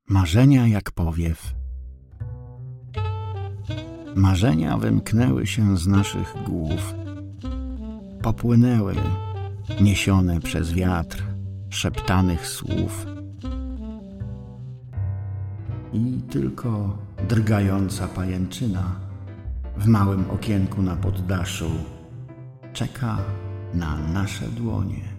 Marzenia jak powiew. Marzenia wymknęły się z naszych głów. Popłynęły, niesione przez wiatr szeptanych słów. I tylko drgająca pajęczyna w małym okienku na poddaszu czeka na nasze dłonie.